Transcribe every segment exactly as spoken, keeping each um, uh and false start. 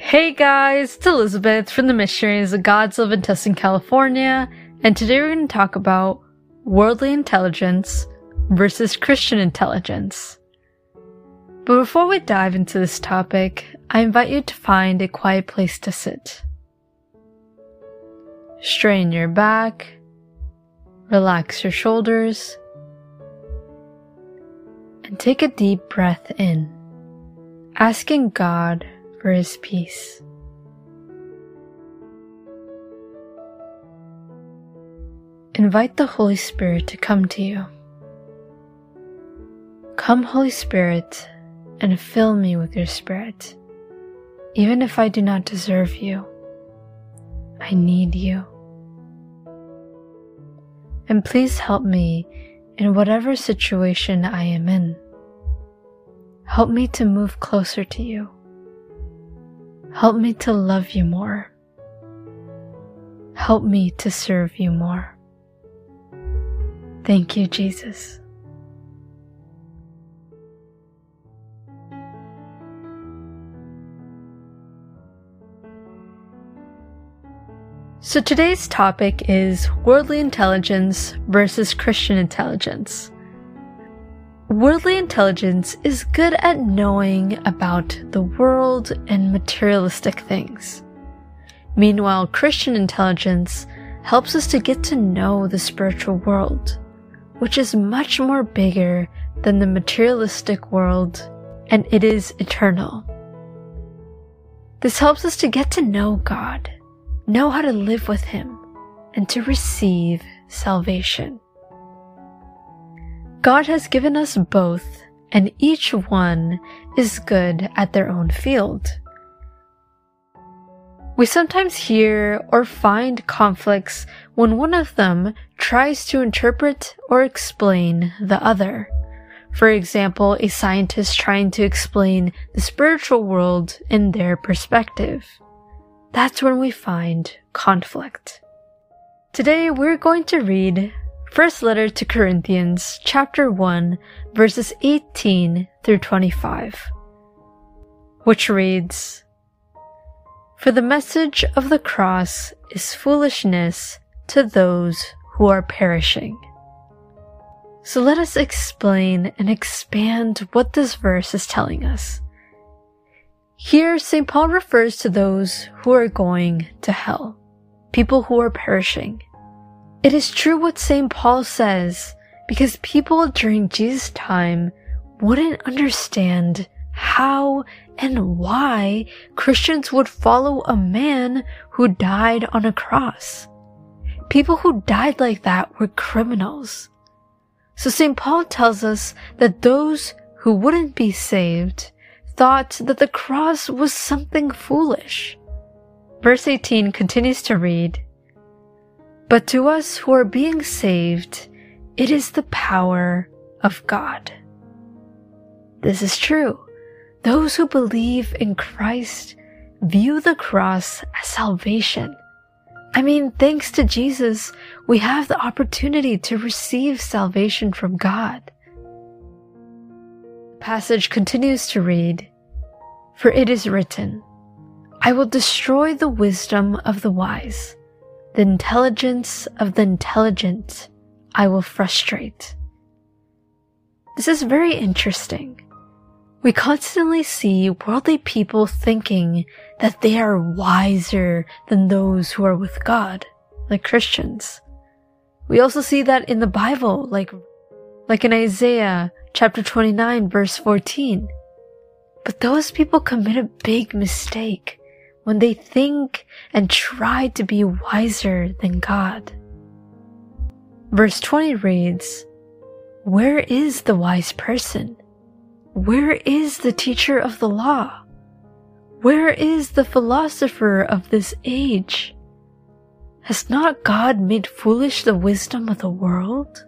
Hey guys, it's Elizabeth from the Missionaries of God's Love in Tustin, California, and today we're going to talk about worldly intelligence versus Christian intelligence. But before we dive into this topic, I invite you to find a quiet place to sit. Straighten your back, relax your shoulders, and take a deep breath in, asking God for His peace. Invite the Holy Spirit to come to you. Come, Holy Spirit, and fill me with your Spirit. Even if I do not deserve you, I need you. And please help me in whatever situation I am in. Help me to move closer to you. Help me to love you more. Help me to serve you more. Thank you, Jesus. So today's topic is worldly intelligence versus Christian intelligence. Worldly intelligence is good at knowing about the world and materialistic things. Meanwhile, Christian intelligence helps us to get to know the spiritual world, which is much more bigger than the materialistic world, and it is eternal. This helps us to get to know God, know how to live with Him, and to receive salvation. God has given us both, and each one is good at their own field. We sometimes hear or find conflicts when one of them tries to interpret or explain the other. For example, a scientist trying to explain the spiritual world in their perspective. That's when we find conflict. Today we're going to read First Letter to Corinthians, chapter one, verses eighteen through twenty-five, which reads, "For the message of the cross is foolishness to those who are perishing." So let us explain and expand what this verse is telling us. Here, Saint Paul refers to those who are going to hell, people who are perishing. It is true what Saint Paul says, because people during Jesus' time wouldn't understand how and why Christians would follow a man who died on a cross. People who died like that were criminals. So Saint Paul tells us that those who wouldn't be saved thought that the cross was something foolish. Verse eighteen continues to read, "But to us who are being saved, it is the power of God." This is true. Those who believe in Christ view the cross as salvation. I mean, thanks to Jesus, we have the opportunity to receive salvation from God. The passage continues to read, "For it is written, I will destroy the wisdom of the wise. The intelligence of the intelligent I will frustrate." This is very interesting. We constantly see worldly people thinking that they are wiser than those who are with God, like Christians. We also see that in the Bible, like, like in Isaiah chapter twenty-nine, verse fourteen. But those people commit a big mistake when they think and try to be wiser than God. Verse twenty reads, "Where is the wise person? Where is the teacher of the law? Where is the philosopher of this age? Has not God made foolish the wisdom of the world?"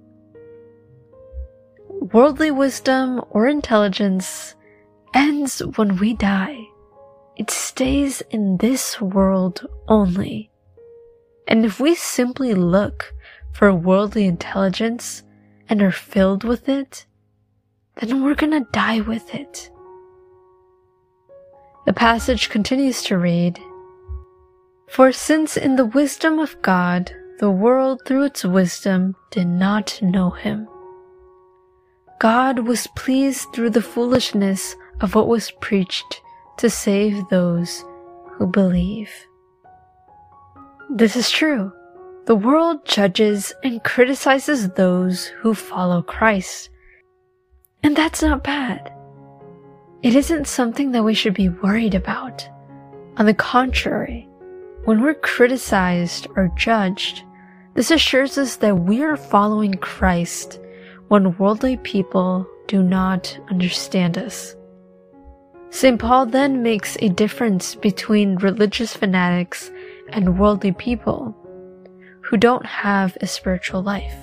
Worldly wisdom or intelligence ends when we die. It stays in this world only. And if we simply look for worldly intelligence and are filled with it, then we're gonna die with it. The passage continues to read, "For since in the wisdom of God, the world through its wisdom did not know him, God was pleased through the foolishness of what was preached to save those who believe." This is true. The world judges and criticizes those who follow Christ. And that's not bad. It isn't something that we should be worried about. On the contrary, when we're criticized or judged, this assures us that we are following Christ when worldly people do not understand us. Saint Paul then makes a difference between religious fanatics and worldly people who don't have a spiritual life.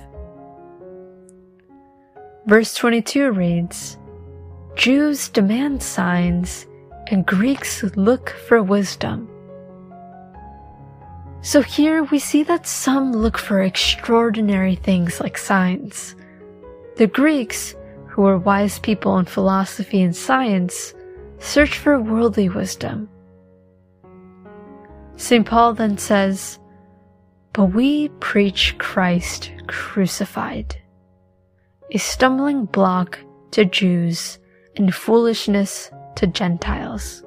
Verse twenty-two reads, "Jews demand signs, and Greeks look for wisdom." So here we see that some look for extraordinary things like signs. The Greeks, who were wise people in philosophy and science, search for worldly wisdom. Saint Paul then says, "But we preach Christ crucified, a stumbling block to Jews and foolishness to Gentiles."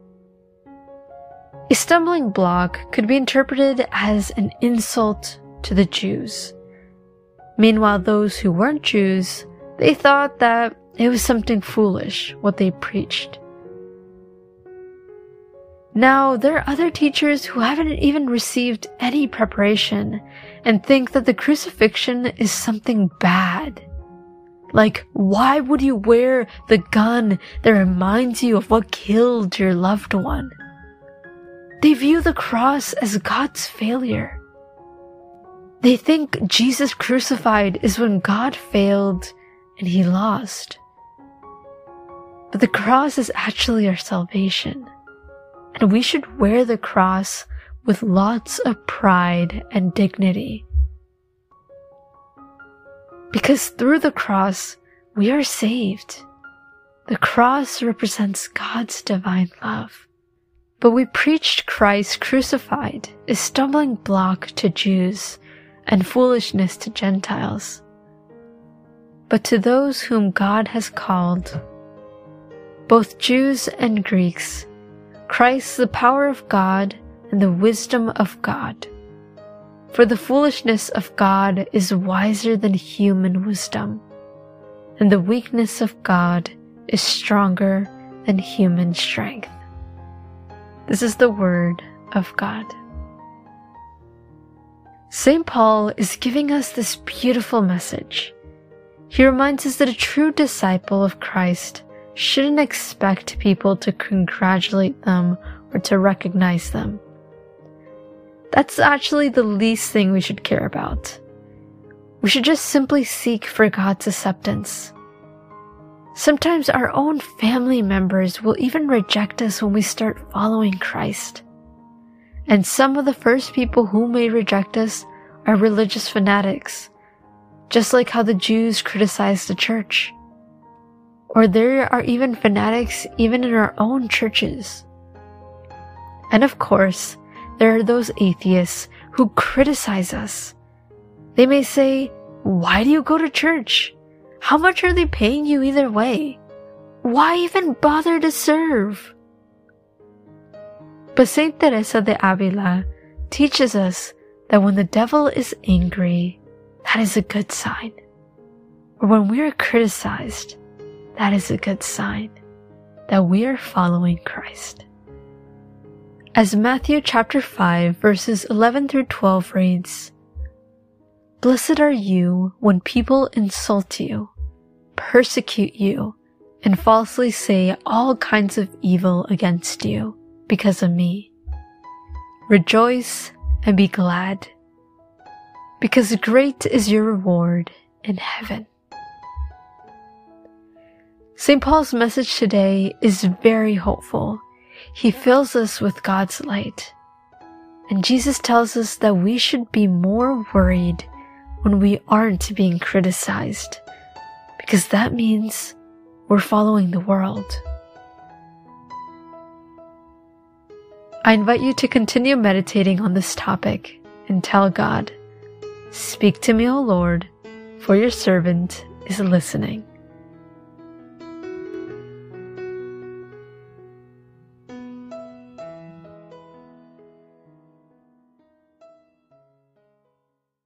A stumbling block could be interpreted as an insult to the Jews. Meanwhile, those who weren't Jews, they thought that it was something foolish what they preached. Now, there are other teachers who haven't even received any preparation and think that the crucifixion is something bad. Like, why would you wear the gun that reminds you of what killed your loved one? They view the cross as God's failure. They think Jesus crucified is when God failed and he lost. But the cross is actually our salvation. And we should wear the cross with lots of pride and dignity. Because through the cross, we are saved. The cross represents God's divine love. But we preached Christ crucified, a stumbling block to Jews and foolishness to Gentiles. But to those whom God has called, both Jews and Greeks, Christ, the power of God and the wisdom of God. For the foolishness of God is wiser than human wisdom, and the weakness of God is stronger than human strength. This is the word of God. Saint Paul is giving us this beautiful message. He reminds us that a true disciple of Christ shouldn't expect people to congratulate them or to recognize them. That's actually the least thing we should care about. We should just simply seek for God's acceptance. Sometimes our own family members will even reject us when we start following Christ. And some of the first people who may reject us are religious fanatics, just like how the Jews criticized the church. Or there are even fanatics even in our own churches. And of course, there are those atheists who criticize us. They may say, "Why do you go to church? How much are they paying you either way? Why even bother to serve?" But Saint Teresa de Avila teaches us that when the devil is angry, that is a good sign. Or when we are criticized, that is a good sign that we are following Christ. As Matthew chapter five verses eleven through twelve reads, "Blessed are you when people insult you, persecute you, and falsely say all kinds of evil against you because of me. Rejoice and be glad, because great is your reward in heaven." Saint Paul's message today is very hopeful. He fills us with God's light. And Jesus tells us that we should be more worried when we aren't being criticized, because that means we're following the world. I invite you to continue meditating on this topic and tell God, "Speak to me, O Lord, for your servant is listening."